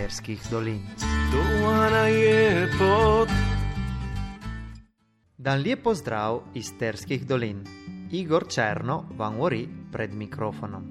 Sterskih dolin. Dan lijep pozdrav iz Sterskih dolin. Igor Černo vam govori pred mikrofonom.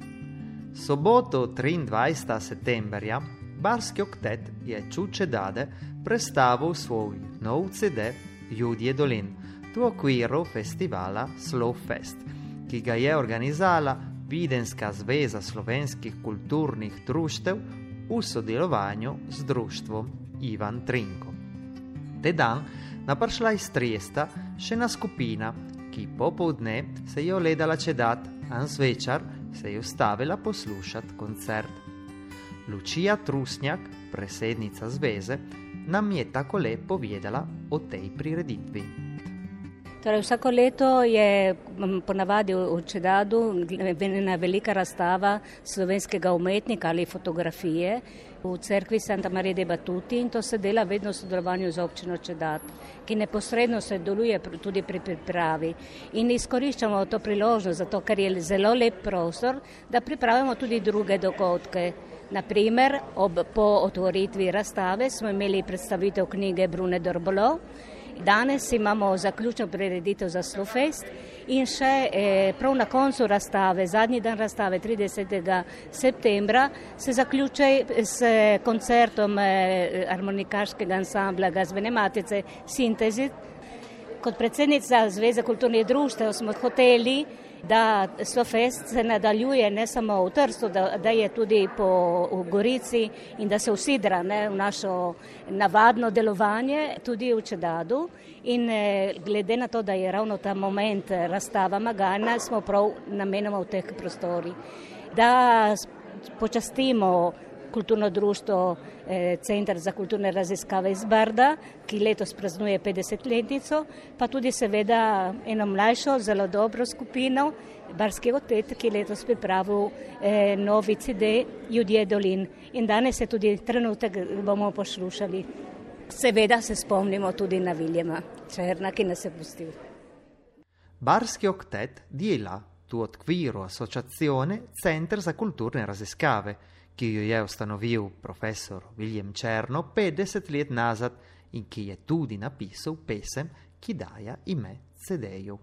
Soboto 23. septemberja Barski oktet je Čuče Dade predstavil svoj nov CD Ljudje dolin v okviru festivala Slowfest, ki ga je organizala Videnska zveza slovenskih kulturnih društev v sodelovanju z društvom Ivan Trinko. Te dan naprišla iz Triesta še ena skupina, ki popoldne se je ogledala čedat, a zvečer se je ustavila poslušati koncert. Lučija Trusnjak, predsednica zveze, nam je takole povedala o tej prireditvi. Torej, vsako leto je ponavadi v Čedadu ena velika razstava slovenskega umetnika ali fotografije v cerkvi Santa Maria de Batuti, in to se dela vedno v sodelovanju z občino Čedad, ki neposredno sodeluje tudi pri pripravi. In izkoriščamo to priložnost, zato ker je zelo lep prostor, da pripravimo tudi druge dogodke. Naprimer, po otvoritvi razstave smo imeli predstavitev knjige Brune Dorbolo. Danes imamo zaključno prireditev za Slowfest in še prav na koncu razstave, zadnji dan razstave 30. septembra, se zaključuje s koncertom harmonikaškega ansambla Glasbene matice Sintezit. Kot predsednica Zveze kulturnih društev smo hoteli, da Slowfest se nadaljuje ne samo v Trstu, da je tudi v Gorici in da se usidra v našo navadno delovanje tudi v Čedadu. In glede na to, da je ravno ta moment razstava Magana, smo prav namenoma v teh prostorih, da počastimo kulturno društvo Centar za kulturne raziskave iz Brda, ki letos praznuje 50-letnico, pa tudi seveda eno mlajšo, zelo dobro skupino, Barski oktet, ki letos pripravil novi CD Ljudje dolin. In danes je tudi trenutek, bomo poslušali. Seveda se spomnimo tudi na Viljema Černa, ki nas je pustil. Barski oktet dela v okviru Associazione Centar za kulturne raziskave, ki jo je ustanovil profesor Viljem Černo 50 let nazad in ki je tudi napisal pesem, ki daje ime CD-ju.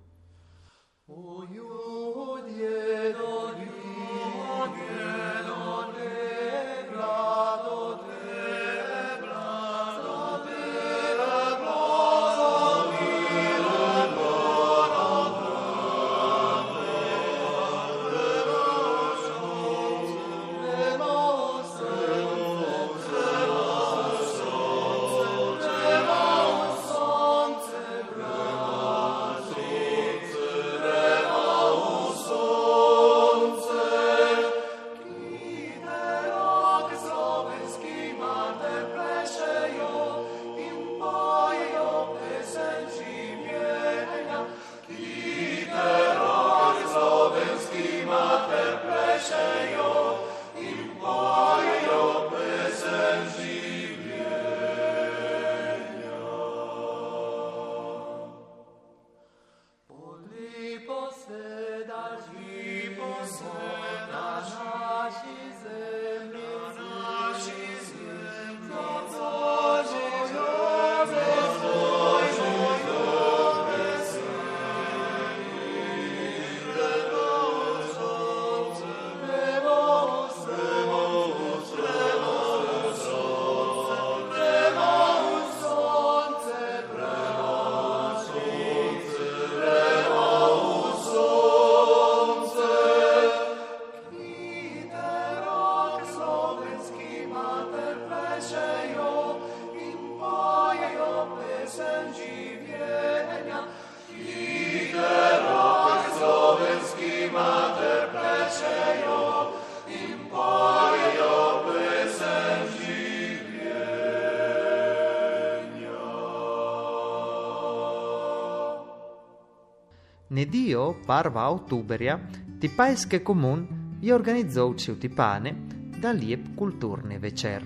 Nedio 1. oktoberja Tipajski komun je organizal v Tipane da lijep kulturni večer.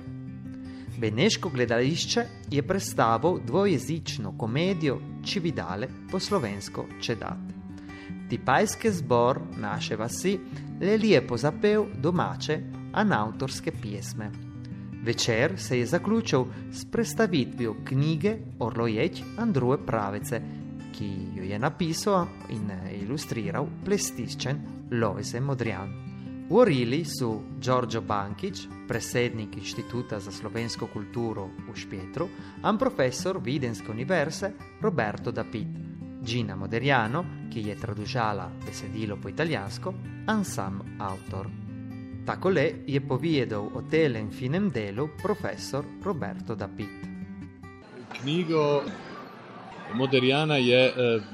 Beneško gledališče je predstavil dvojezično komedijo Čividale po slovensko Čedat. Tipajski zbor naše vasi le lijepo zapel domače, a avtorske pjesme. Večer se je zaključil s predstavitvijo knjige Orloječ Andruje Pravice, ki jo je napisal in ilustriral plestiščen Lojze Modrijan. Govorili su Đorđo Bankić, predsednik Inštituta za slovensko kulturo v Špjetru, in profesor Videnske univerze Roberto Dapit, Gina Moderiano, ki je tradužala besedilo po italijansko, in sam avtor. Takole je povedal o telem finem delu profesor Roberto Dapit. Knjigo Moderjana je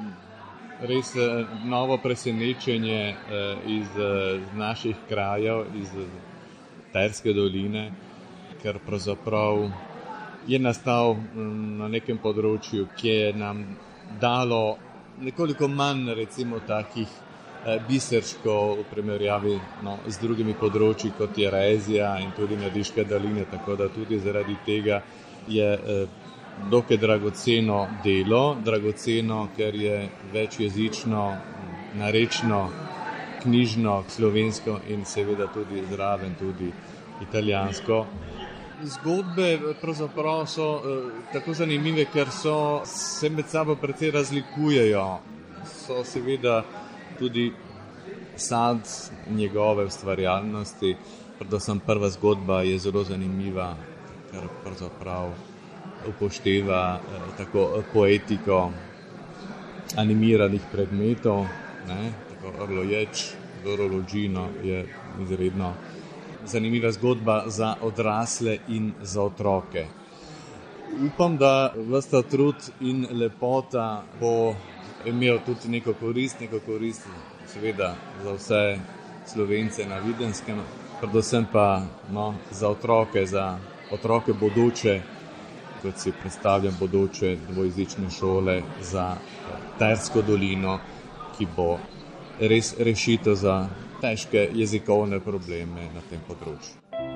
res novo presenečenje iz naših krajev, iz Terske doline, ker pravzaprav je nastal na nekem področju, ki je nam dalo nekoliko manj recimo takih biserškov v primerjavi z drugimi področji, kot je Rezija in tudi Nadiške doline, tako da tudi zaradi tega je dokaj dragoceno delo, dragoceno, ker je večjezično, narečno, knjižno, slovensko in seveda tudi zraven tudi italijansko. Zgodbe pravzaprav so tako zanimive, ker se med sabo precej razlikujejo. So seveda tudi sad njegove ustvarjalnosti, predvsem prva zgodba je zelo zanimiva, ker pravzaprav upošteva tako poetiko animiranih predmetov, tako Orloječ, Orologino je izredno zanimiva zgodba za odrasle in za otroke. Upam, da ves ta trud in lepota bo imel tudi neko korist seveda za vse Slovence na Videnskem, predvsem pa za otroke bodoče, kot si predstavljam bodoče dvojezične šole za Tersko dolino, ki bo res rešitev za težke jezikovne probleme na tem področju.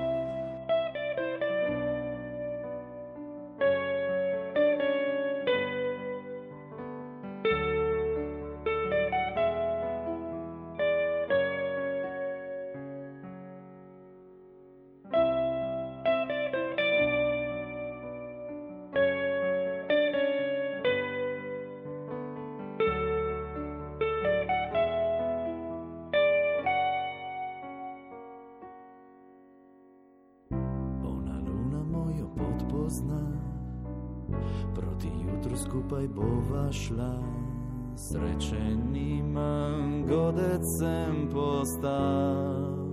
Proti jutru skupaj bova šla, srečen imam, godec sem postal.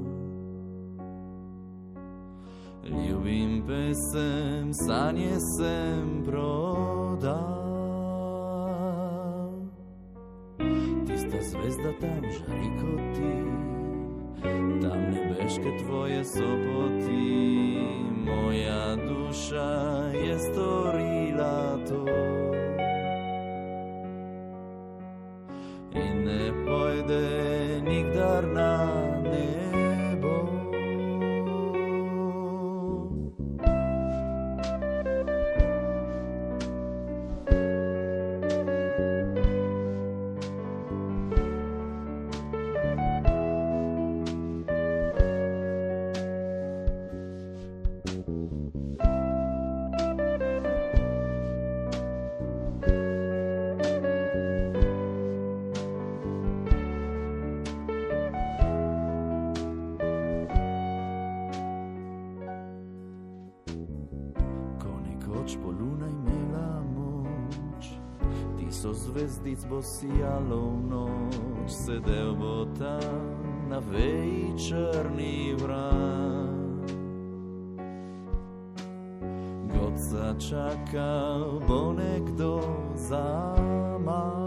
Ljubim pesem, sanje sem prodal. Tista zvezda tam žari kot ti, tam nebeške tvoje so poti. Moja duša je storila to in ne pojde nikdar na nebo. Zvezdic bo sijalo v noč, sedel bo tam na veji črni vrat. Godca čakal bo nekdo zaman.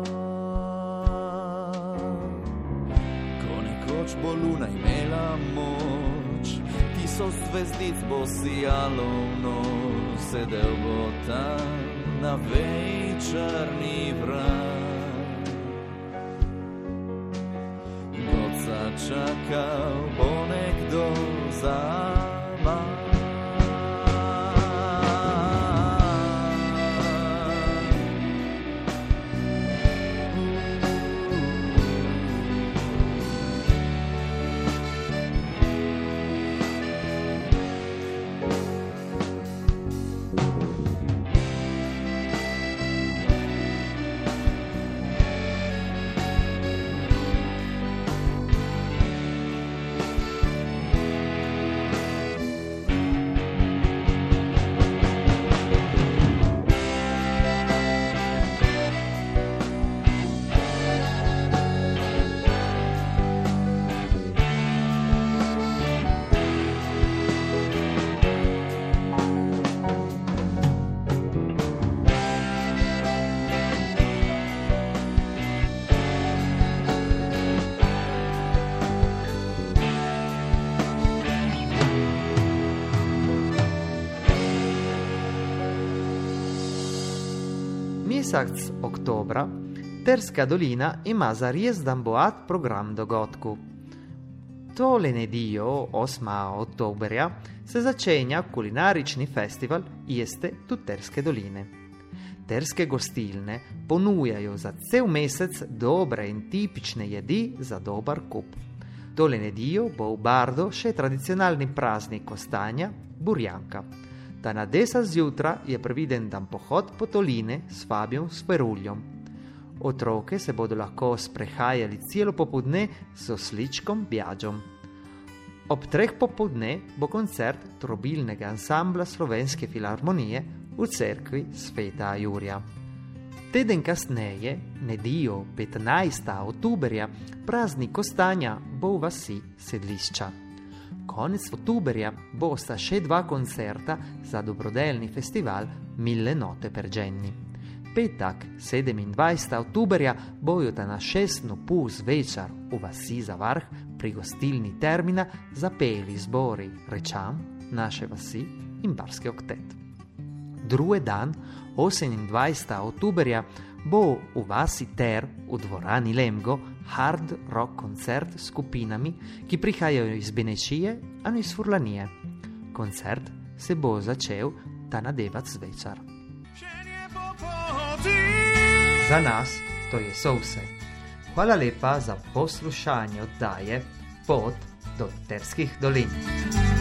Ko nekoč bo luna imela moč, tisoč zvezdic bo sijalo v noč, sedel bo tam na veji črni vrat. Godca čakal bo nekdo zaman. mesac oktobra Terska dolina ima zarizdan bogat program dogodkov. Tole nedeljo, 8. oktoberja, se začenja kulinarični festival Jeste tu Terske doline. Terske gostilne ponujajo za cel mesec dobre in tipične jedi za dober kup. Tole nedeljo bo v Bardo še tradicionalni praznik kostanja, burjanka. Ta na 10 zjutraj je previden dan pohod po doline s Fabijom Speruljom. Otroke se bodo lahko sprehajali celo popoldne z osličkom Bjađom. Ob 3 popoldne bo koncert trobilnega ansambla Slovenske filharmonije v cerkvi Sveta Jurija. Teden kasneje, nedeljo 15. oktoberja, praznik kostanja bo v vasi Sedlišča. Konec oktoberja bosta še 2 koncerta za dobrodelni festival Mille note per Jenny. Petak, 27. oktoberja, bojo ta na 6:30 zvečer v vasi Zavarh pri gostilni Termina zapeli zbori Rečan, naše vasi in Barski oktet. Drugi dan, 28. oktoberja, bo v vasi Ter v dvorani Lemgo hard rock koncert s skupinami, ki prihajajo iz Benešije ali iz Furlanije. Koncert se bo začel ta na 9 zvečer. Za nas to je vse. Hvala lepa za poslušanje oddaje Pot do Terskih dolin.